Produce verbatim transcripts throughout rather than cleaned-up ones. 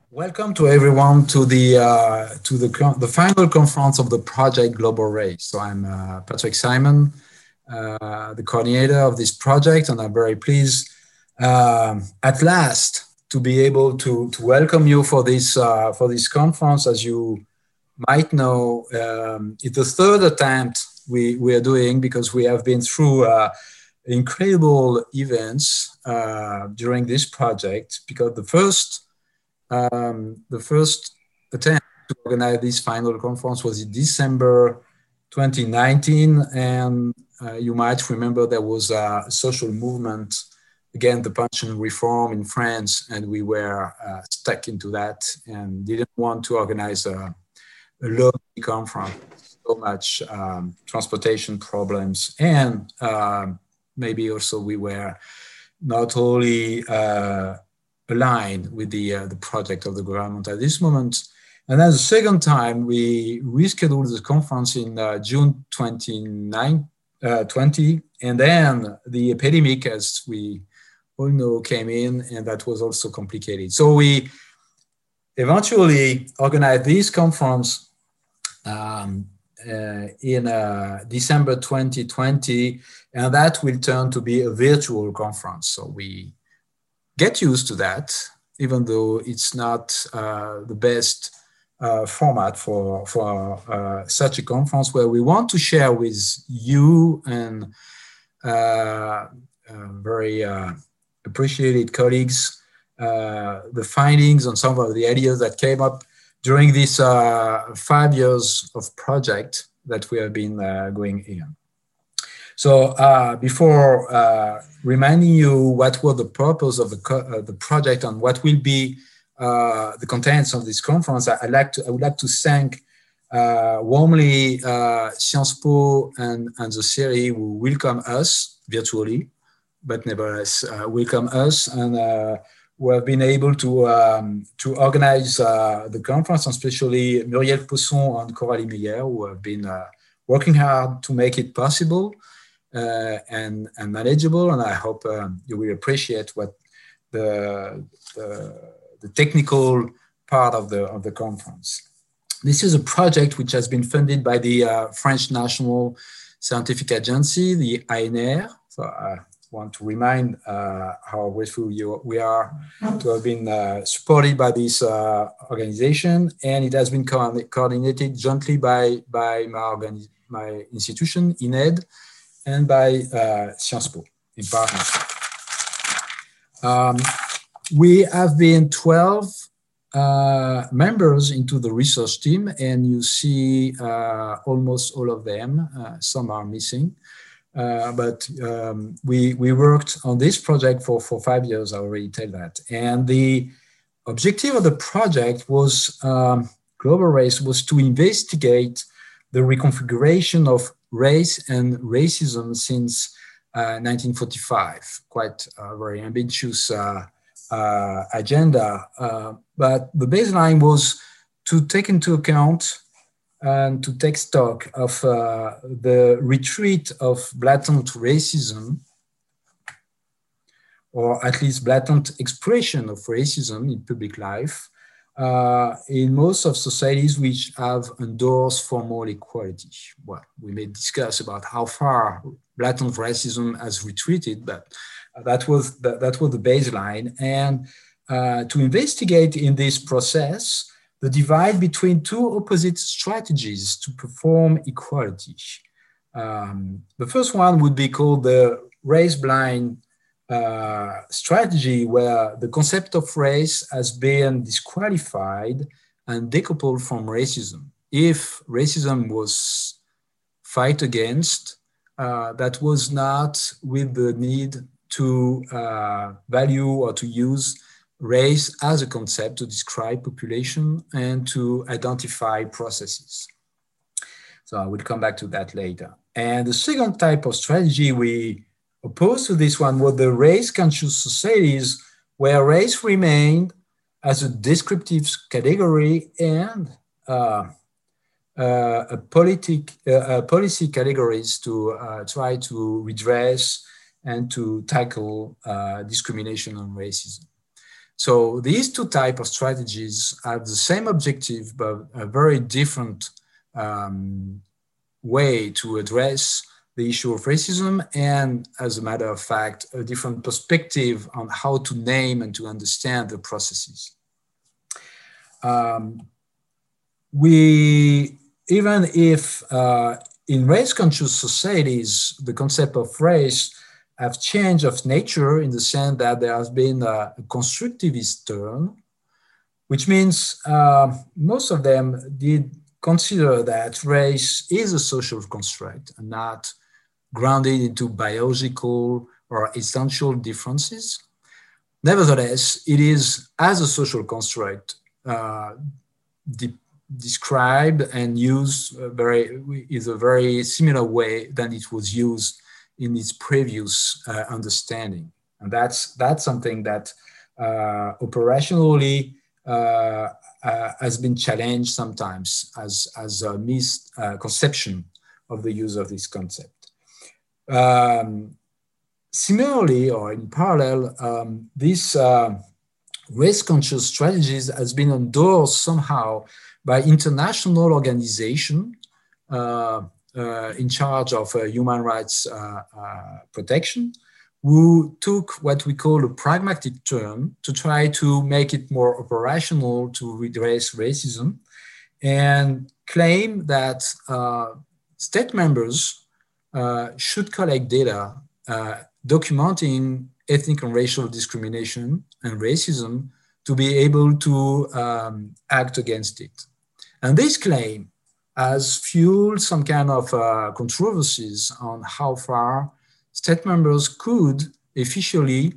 Welcome to everyone to the uh, to the con- the final conference of the project Global Race. So I'm uh, Patrick Simon, uh, the coordinator of this project, and I'm very pleased um, at last to be able to to welcome you for this uh, for this conference. As you might know, um, it's the third attempt we we are doing because we have been through uh, incredible events uh, during this project. Because the first um, the first attempt to organize this final conference was in December twenty nineteen, and uh, you might remember there was a social movement against the pension reform in France, and we were uh, stuck into that and didn't want to organize a, a lonely conference. So much um, transportation problems, and um, maybe also we were not only uh, aligned with the uh, the project of the government at this moment. And then the second time, we rescheduled the conference in uh, June twenty-ninth, uh, twenty, and then the epidemic, as we all know, came in, and that was also complicated. So we eventually organized this conference um, uh, in uh, December twenty twenty, and that will turn to be a virtual conference. So we get used to that, even though it's not uh, the best uh, format for, for uh, such a conference, where we want to share with you and uh, uh, very uh, appreciated colleagues uh, the findings on some of the ideas that came up during this uh, five years of project that we have been uh, going in. So uh, before uh, reminding you what was the purpose of the, uh, the project and what will be uh, the contents of this conference, I, I'd like to, I would like to thank uh, warmly uh, Sciences Po and, and the C R I who welcome us virtually, but nevertheless uh, welcome us, and uh, who have been able to, um, to organize uh, the conference, and especially Muriel Pousson and Coralie Meyer, who have been uh, working hard to make it possible. Uh, and, and manageable, and I hope um, you will appreciate what the, the, the technical part of the, of the conference. This is a project which has been funded by the uh, French National Scientific Agency, the A N R. So I want to remind uh, how grateful you, we are to have been uh, supported by this uh, organization, and it has been co coordinated jointly by, by my, my institution, I N E D, and by uh, Sciences Po in partnership. Um, we have been twelve uh, members into the research team, and you see uh, almost all of them. Uh, some are missing, uh, but um, we, we worked on this project for, for five years, I already tell that. And the objective of the project was, um, Global Race, was to investigate the reconfiguration of race and racism since uh, nineteen forty-five, quite a very ambitious uh, uh, agenda. Uh, but the baseline was to take into account and to take stock of uh, the retreat of blatant racism, or at least blatant expression of racism in public life, Uh, in most of societies which have endorsed formal equality. Well, we may discuss about how far blatant racism has retreated, but that was the, that was the baseline. And uh, to investigate in this process the divide between two opposite strategies to perform equality. Um, the first one would be called the race-blind Uh, strategy, where the concept of race has been disqualified and decoupled from racism. If racism was fight against, uh, that was not with the need to uh, value or to use race as a concept to describe population and to identify processes. So I will come back to that later. And the second type of strategy we opposed to this one were the race-conscious societies, where race remained as a descriptive category and uh, uh, a politic, uh, policy categories to uh, try to redress and to tackle uh, discrimination and racism. So these two types of strategies have the same objective, but a very different um, way to address the issue of racism, and as a matter of fact, a different perspective on how to name and to understand the processes. Um, we, even if uh, in race-conscious societies, the concept of race have changed of nature in the sense that there has been a, a constructivist turn, which means uh, most of them did consider that race is a social construct and not grounded into biological or essential differences. Nevertheless, it is as a social construct uh, de described and used uh, very, is a very similar way than it was used in its previous uh, understanding. And that's, that's something that uh, operationally uh, uh, has been challenged sometimes as, as a misconception uh, of the use of this concept. Um, similarly, or in parallel, um, this uh, race-conscious strategies has been endorsed somehow by international organizations uh, uh, in charge of uh, human rights uh, uh, protection, who took what we call a pragmatic turn to try to make it more operational to redress racism, and claim that uh, state members uh, should collect data uh, documenting ethnic and racial discrimination and racism to be able to um, act against it. And this claim has fueled some kind of uh, controversies on how far state members could efficiently,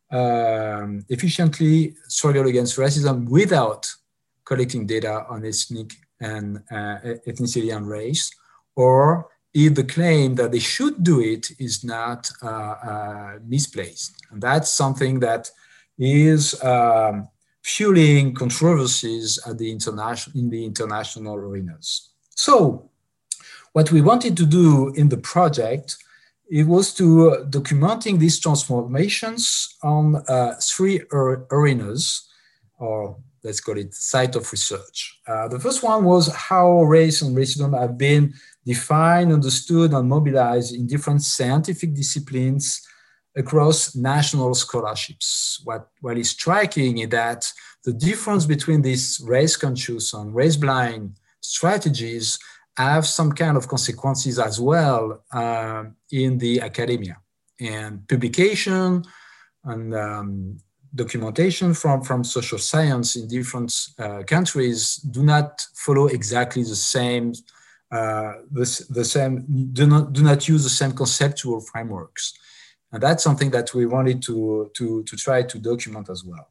um, efficiently struggle against racism without collecting data on ethnic and uh, ethnicity and race, or if the claim that they should do it is not uh, uh, misplaced. And that's something that is um, fueling controversies at the international, in the international arenas. So what we wanted to do in the project, it was to uh, documenting these transformations on uh, three arenas, or let's call it site of research. Uh, the first one was how race and racism have been defined, understood, and mobilized in different scientific disciplines across national scholarships. What, what is striking is that the difference between these race-conscious and race-blind strategies have some kind of consequences as well uh, in the academia. And publication and um, documentation from, from social science in different uh, countries do not follow exactly the same, uh, the, the same do, not, do not use the same conceptual frameworks. And that's something that we wanted to, to, to try to document as well.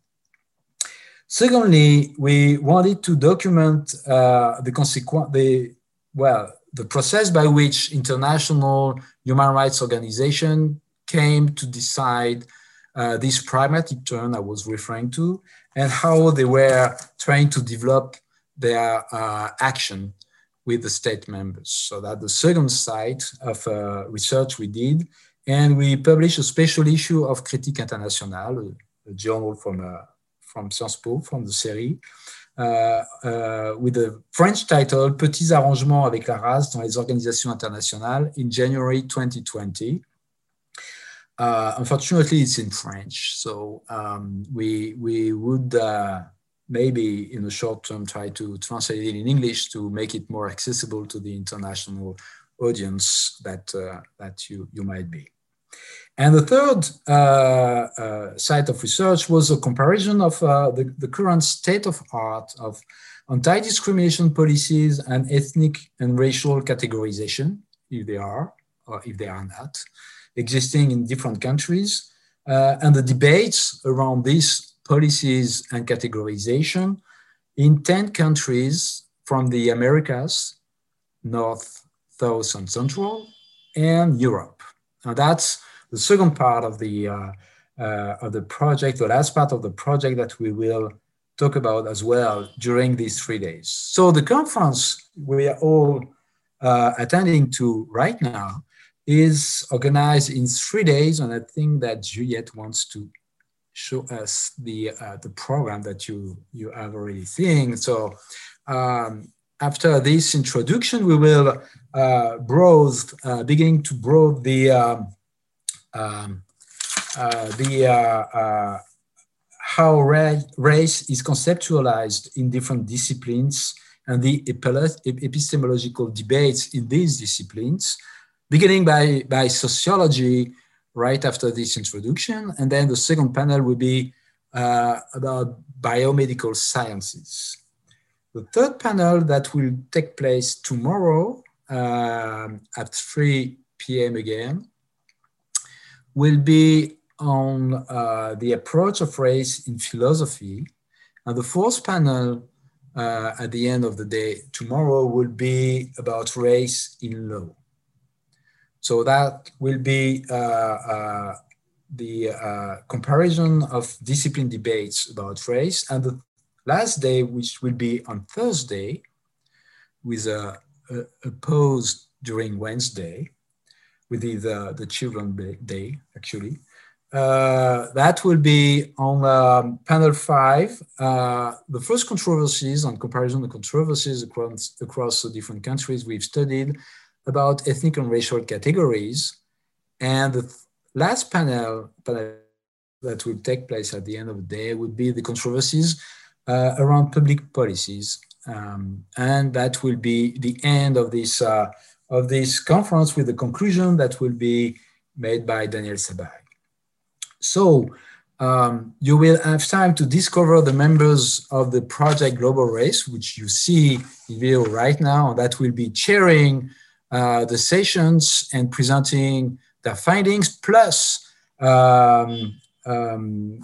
Secondly, we wanted to document uh, the consequence, the, well, the process by which international human rights organizations came to decide uh, this pragmatic turn I was referring to, and how they were trying to develop their uh, action with the state members. So that's the second side of uh, research we did. And we published a special issue of Critique Internationale, a, a journal from, uh, from Sciences Po, from the série, uh, uh, with a French title, Petits arrangements avec la race dans les organisations internationales, in January twenty twenty. Uh, unfortunately, it's in French, so um, we, we would uh, maybe in the short term try to translate it in English to make it more accessible to the international audience that, uh, that you, you might be. And the third uh, uh, site of research was a comparison of uh, the, the current state of art of anti-discrimination policies and ethnic and racial categorization, if they are, or if they are not, existing in different countries, uh, and the debates around these policies and categorization in ten countries from the Americas, North, South, and Central, and Europe. Now that's the second part of the, uh, uh, of the project, the last part of the project that we will talk about as well during these three days. So the conference we are all uh, attending to right now is organized in three days, and I think that Juliette wants to show us the, uh, the program that you, you have already seen. So um, after this introduction, we will uh, browse, uh, beginning to browse the, um, um, uh, the uh, uh, how race is conceptualized in different disciplines and the epistemological debates in these disciplines, beginning by, by sociology right after this introduction. And then the second panel will be uh, about biomedical sciences. The third panel that will take place tomorrow um, at three p m again will be on uh, the approach of race in philosophy. And the fourth panel uh, at the end of the day tomorrow will be about race in law. So that will be uh, uh, the uh, comparison of discipline debates about race. And the last day, which will be on Thursday, with a, a, a pause during Wednesday, with the, the, the Children's Day, actually. Uh, that will be on um, panel five, uh, the first controversies on comparison of controversies across, across the different countries we've studied about ethnic and racial categories. And the last panel, panel that will take place at the end of the day would be the controversies uh, around public policies. Um, and that will be the end of this, uh, of this conference with the conclusion that will be made by Daniel Sabai. So um, you will have time to discover the members of the Project Global Race, which you see in video right now, that will be chairing uh, the sessions and presenting their findings, plus um, um,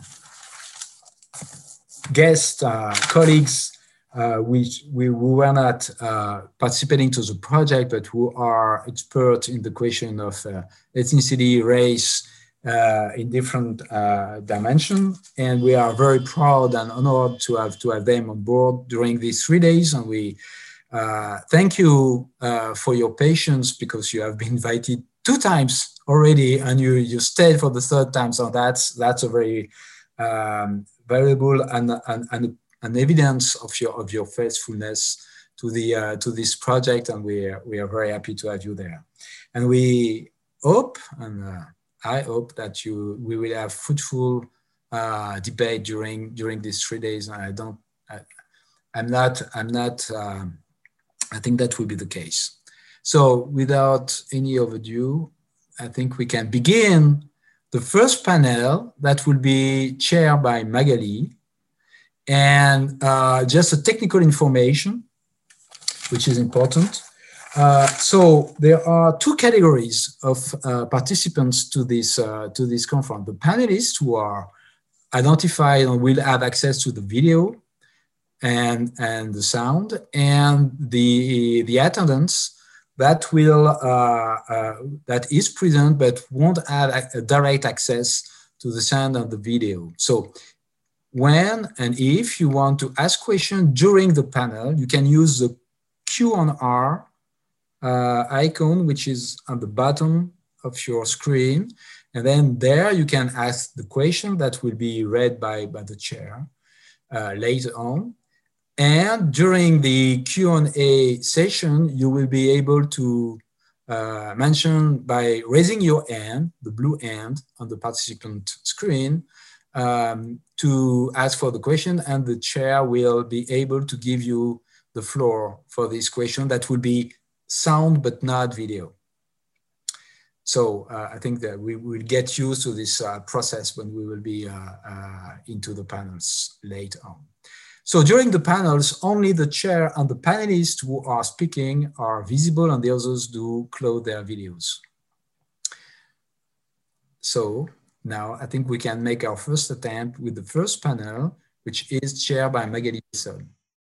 guest uh, colleagues uh, which we who were not uh, participating to the project, but who are experts in the question of uh, ethnicity, race, Uh, in different uh, dimensions, and we are very proud and honored to have to have them on board during these three days. And we uh, thank you uh, for your patience, because you have been invited two times already, and you you stayed for the third time. So that's that's a very um, valuable and, and and an evidence of your of your faithfulness to the uh, to this project, and we are, we are very happy to have you there. And we hope and. Uh, I hope that you we will have fruitful uh, debate during during these three days. I don't. I, I'm not. I'm not. Um, I think that will be the case. So, without any overdue, I think we can begin the first panel that will be chaired by Magali, and uh, just a technical information, which is important. Uh, so there are two categories of uh, participants to this uh, to this conference. The panelists, who are identified and will have access to the video and and the sound, and the the attendants that will uh, uh, that is present but won't have a, a direct access to the sound and the video. So when and if you want to ask questions during the panel, you can use the Q and R Uh, icon, which is on the bottom of your screen. And then there you can ask the question that will be read by, by the chair uh, later on. And during the Q and A session, you will be able to uh, mention by raising your hand, the blue hand on the participant screen, um, to ask for the question, and the chair will be able to give you the floor for this question that will be sound but not video. So uh, I think that we will get used to this uh, process when we will be uh, uh, into the panels later on. So during the panels, only the chair and the panelists who are speaking are visible, and the others do close their videos. So now I think we can make our first attempt with the first panel, which is chaired by Magali Besson.